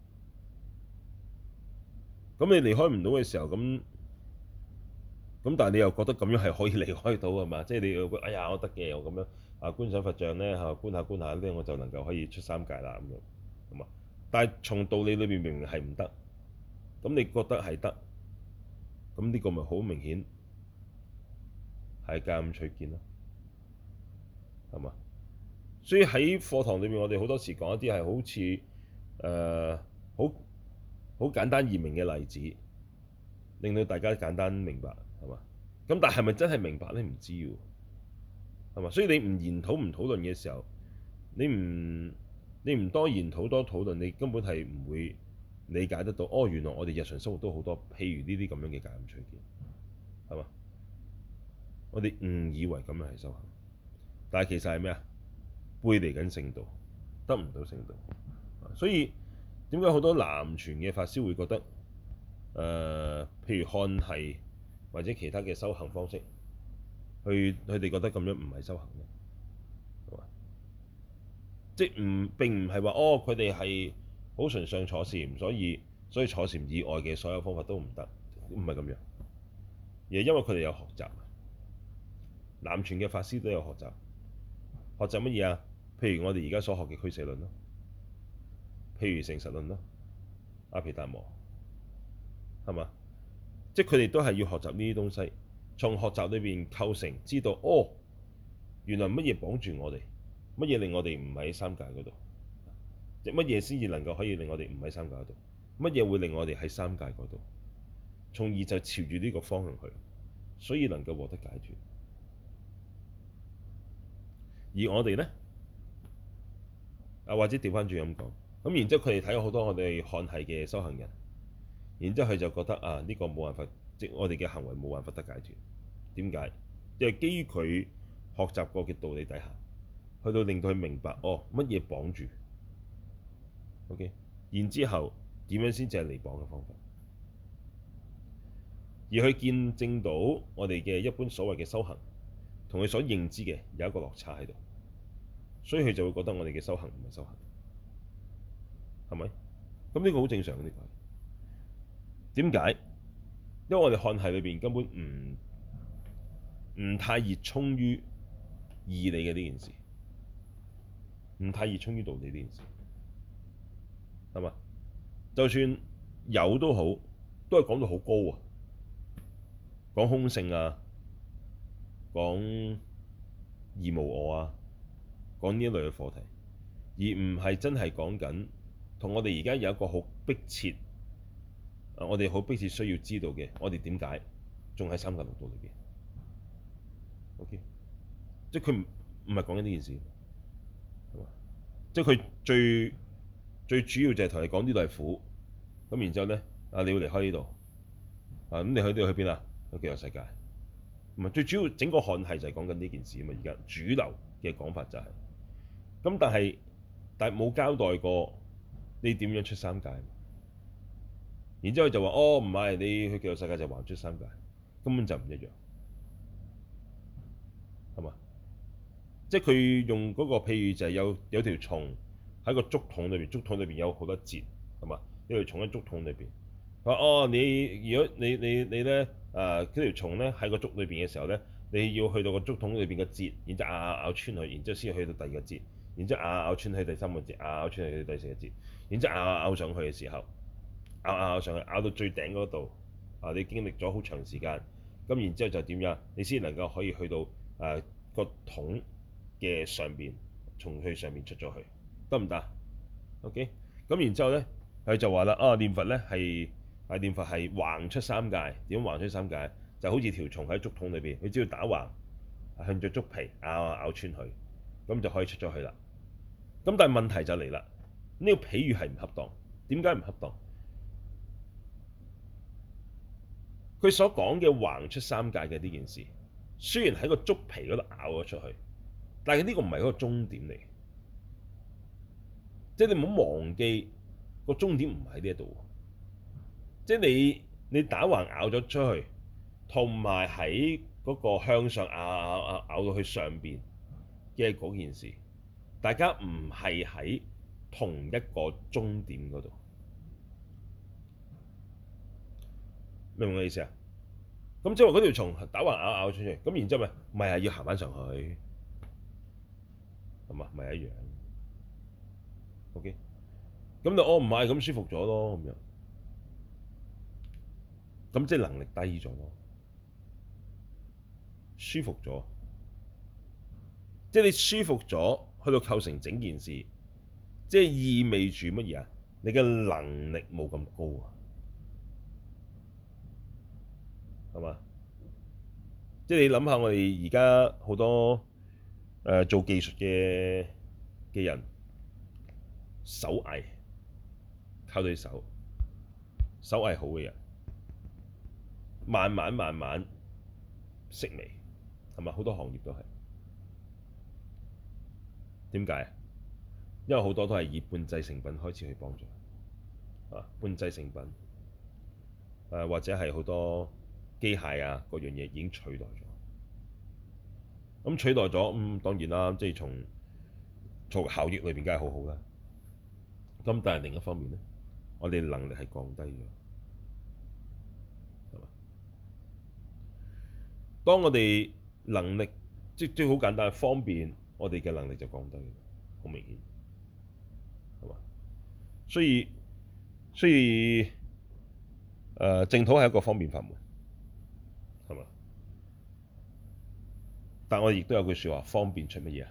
咁你離開唔到嘅時候，咁但係你又覺得咁樣係可以離開到係嘛？即係你又覺得哎呀，我得嘅，我咁樣觀想佛像咧嚇，觀下觀下咧，我就能夠可以出三界啦咁樣，係嘛？但係從道理裏邊明明係唔得，咁你覺得係得，咁呢個咪好明顯係戒禁取見咯，係嘛？所以喺課堂裏面，我哋好多時講一啲係好似好好簡單易明嘅例子，令到大家簡單明白，係嘛？咁但係咪真係明白咧？唔知喎，係嘛？所以你唔研討唔討論嘅時候，你唔多研討多討論，你根本係唔會理解得到。哦，原來我哋日常生活都好多，譬如呢啲咁樣嘅戒禁取見，係嘛？我哋誤以為咁樣係修行，但係其實係咩啊？背離緊聖道，得唔到聖道。所以點解好多南傳嘅法師會覺得譬如漢系或者其他嘅修行方式，佢哋覺得咁樣唔係修行嘅，係嘛？即係並唔係話哦，佢哋係好崇尚坐禪，所以坐禪以外嘅所有方法都唔得，唔係咁樣。而係因為佢哋有學習，南傳嘅法師都有學習，學習乜嘢啊？譬如我哋而家所學嘅俱舍論咯，譬如成實論咯，阿毗達摩，係嘛？即係佢哋都係要學習呢啲東西，從學習裏邊構成知道哦，原來乜嘢綁住我哋，乜嘢令我哋唔喺三界嗰度，即乜嘢先至能夠可以令我哋唔喺三界嗰度，乜嘢會令我哋喺三界嗰度，從而就朝住呢個方向去，所以能夠獲得解脫。而我哋咧或者調翻轉咁講，咁然之後佢哋睇咗好多我哋漢系嘅修行人，然之後佢就覺得呢個冇辦法，即我哋嘅行為冇辦法得解脫。點解？因為基於佢學習過嘅道理底下，去到令到佢明白乜嘢綁住，OK，然之後點樣先至係離綁嘅方法，而去見證到我哋嘅一般所謂嘅修行，同佢所認知嘅有一個落差喺度，所以佢就會覺得我哋嘅修行唔係修行，係咪？咁呢個好正常嘅，呢個點解？因為我哋漢系裏邊根本唔太熱衷於義理嘅呢件事，唔太熱衷於道理呢件事，係嘛？就算有都好，都係講到好高啊，講空性啊，講二無我啊，講呢一類嘅課題，而唔係真係講緊同我哋而家有一個好迫切，我哋好迫切需要知道嘅，我哋點解仲喺三界六道裏邊？OK，即係佢唔係講緊呢件事，係嘛？即係佢最主要就係同你講呢度係苦，咁然之後咧你要離開呢度，咁你去呢度去邊啊？去極樂世界。 唔係最主要，整個漢系就係講緊呢件事啊嘛。而家主流嘅講法就係、是、咁，但係冇交代過你點樣出三界。然之後就話哦，唔係，你去極樂世界就還出三界，根本就唔一樣，係嘛？即係佢用嗰個譬喻就係有條蟲喺個竹筒裏邊，竹筒裏邊有好多節，係嘛？有條蟲喺竹筒裏邊。佢話哦，如果你咧嗰條蟲咧喺個竹裏邊嘅時候咧，你要去到個竹筒裏邊嘅節，然之後咬穿佢，然之後先去到第二個節，然之後咬穿去第三個節，咬穿去第四個節，然之後咬上去嘅時候，咬上去，咬到最頂嗰度啊！你經歷咗好長時間，咁然之後就點樣？你先能夠可以去到個桶嘅上邊，從佢上面出咗去，得唔得？OK，咁然之後咧，佢就話啦，念佛咧念佛係橫出三界。點橫出三界？就好似條蟲喺竹筒裏邊，佢只要打橫，向著竹皮咬穿佢，咁就可以出咗去啦。咁但係問題就嚟啦，呢個比喻係唔恰當。點解唔恰當？佢所講嘅橫出三界嘅呢件事，雖然喺個竹皮嗰度咬咗出去，但係呢個唔係嗰個終點嚟。即係你唔好忘記個終點唔喺呢一度。即係你打橫咬咗出去，同埋喺嗰個向上咬到去上邊嘅嗰件事，大家唔係喺同一個終點嗰度。明唔明我意思啊？咁即係話嗰條蟲打橫咬出去，咁然之後咪係要行翻上去，係嘛？咪一樣。OK，咁你唔係咁舒服咗咯，咁樣，咁即係能力低咗咯，舒服咗，即係你舒服咗，去到構成整件事，即係意味住乜嘢啊？你嘅能力冇咁高啊，係嘛？即係你諗下，我哋而家好多做技術嘅人，手藝靠對手藝好嘅人，慢慢式微，係咪？好多行業都係點解啊？因為好多都係以半製成品開始去幫助半製成品或者係好多機械啊嗰樣嘢已經取代咗。咁取代咗，當然啦，即係從效益裏邊梗係好好啦。咁但係另一方面咧，我哋能力係降低咗，係嘛？當我哋能力即好簡單方便，我哋嘅能力就降低，好明顯，係嘛？所以淨土係一個方便法門，係嘛？但我哋亦都有句説話，方便出乜嘢啊？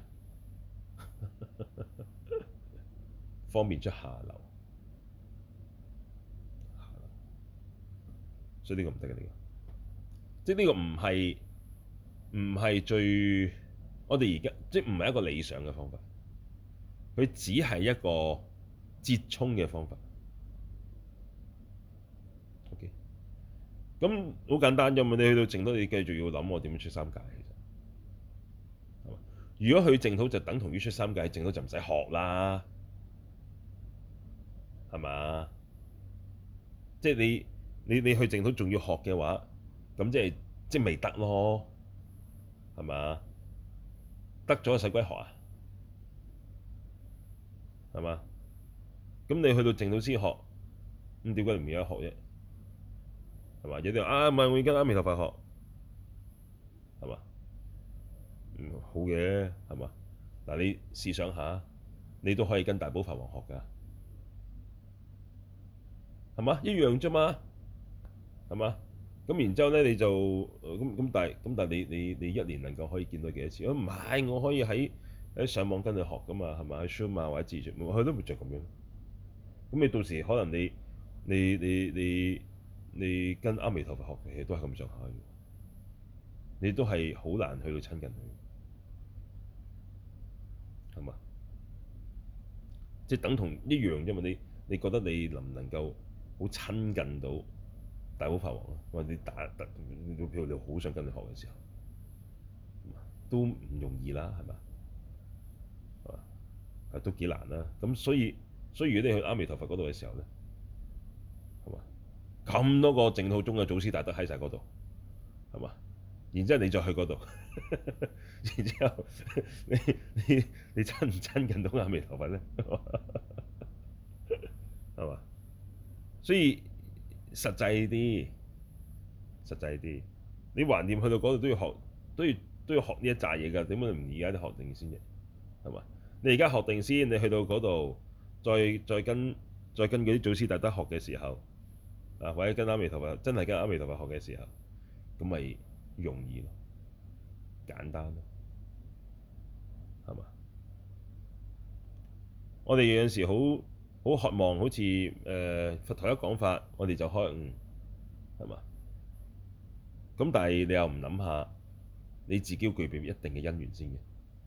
方便出下流，所以呢個唔得嘅，呢個即係呢個唔係最我哋而家即係唔係一個理想嘅方法，佢只係一個折衷嘅方法。OK，咁好簡單啫嘛！你去到淨土，你繼續要諗我點樣出三界，其實係嘛？如果去淨土就等同於出三界，淨土就唔使學啦，係嘛？即係你去淨土仲要學嘅話，咁即係未得咯，係嘛？得咗使鬼學啊，係嘛？咁你去到淨土先學，咁點解你唔而家學啫？係嘛？有啲人唔係我而家阿彌陀佛學，係嘛？好嘅，係嘛？嗱，你試想下，你都可以跟大寶法王學㗎，係嘛？一樣啫嘛，係嘛？咁然之後咧，你就但係你一年能夠可以見到幾多次？唔係，我可以喺上網跟你學㗎嘛，係咪？喺 Zoom 啊或者自傳，佢都唔就咁樣。咁你到時可能你跟阿彌陀佛學嘅嘢都係咁上下嘅，你都係好難去到親近佢，係嘛？即係等同一樣啫嘛。你覺得你能唔能夠好親近到大寶法王啊？或者你譬如你好想跟佢學嘅時候， 都唔容易啦，係嘛？係嘛？係都幾難啦。咁所以如果你去阿彌陀佛嗰度嘅時候咧，係嘛？咁多個淨土宗嘅祖師大德喺晒嗰度，係嘛？然之後你再去嗰度，然之後你你親唔親近到阿彌陀佛咧？係嘛？所以實際啲，實際啲，你橫掂去到嗰度都要學，都要都要學呢一紮嘢㗎。點解唔而家都學定先啫？係嘛？你而家學定先，你去到嗰度，再跟嗰啲祖師大德學嘅時候，啊或者跟阿彌陀佛真係跟阿彌陀佛學嘅時候，咁咪容易咯，簡單咯，係嘛？我哋有陣時好渴望，好似佛陀一講法，我哋就開悟，係嘛？咁但係你又唔諗下，你自己要具備一定嘅因緣先嘅，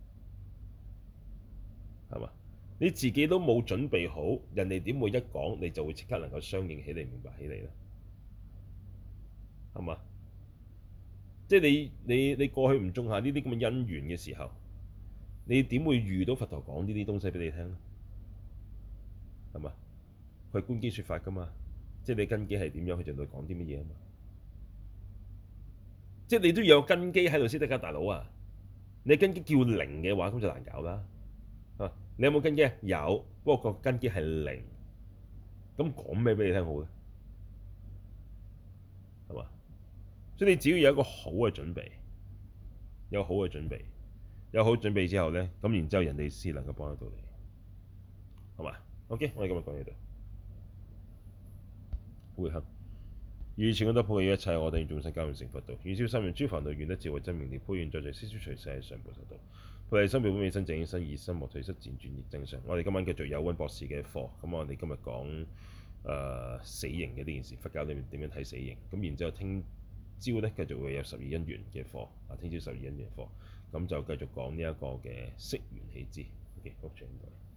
係嘛？你自己都冇準備好，人哋點會一講你就會即刻能夠相應起嚟、明白起嚟咧？係嘛？即係你過去唔種下呢啲咁嘅因緣嘅時候，你點會遇到佛陀講呢啲東西俾你聽咧？係嘛？佢係觀機說法㗎嘛，即係你根基係點樣，佢就對講啲乜嘢啊嘛。即係你都要有根基喺度先得㗎，大佬啊！你根基叫零嘅話，咁就難搞啦。啊，你有冇根基啊？有，不過個根基係零，咁講咩俾你聽好咧？係嘛？所以你只要有一個好嘅準備，有好嘅準備，有好準備之後咧，咁然之後人哋先能夠幫得到你，係嘛？OK，我哋今日講呢度。會合。以前功德普及於一切，我哋眾生皆願成佛道。願消三業諸煩惱，願得智慧真明了。普願在在悉數隨世上菩薩道。菩提心妙本未生，淨應身而心莫退失，漸轉亦增上。我哋今晚繼續有溫博士嘅課，咁我哋今日講死刑嘅呢件事，佛教裏面點樣睇死刑？咁然之後聽朝咧繼續會有十二因緣嘅課，聽朝十二因緣課，咁就繼續講呢一個嘅釋緣起支。OK，好，全部。